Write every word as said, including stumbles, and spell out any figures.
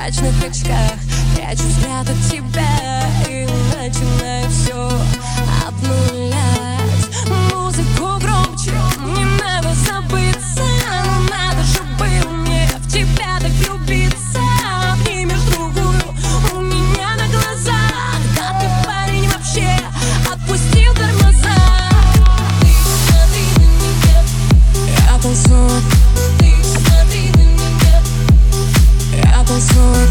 прозрачных очках прячу взгляд от тебя и начинаю все обнулять. Музыку громче, не надо забыться, но надо же было мне в тебя так влюбиться. Обнимешь другую у меня на глазах, да ты, парень, вообще отпустил тормоза. Ты смотри на меня, я танцую. Ты смотри на меня, я танцую.